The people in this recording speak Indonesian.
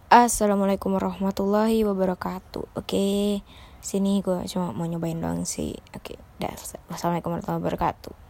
Assalamualaikum warahmatullahi wabarakatuh. Oke, sini gue cuma mau nyobain doang sih. Oke, dah. Assalamualaikum warahmatullahi wabarakatuh.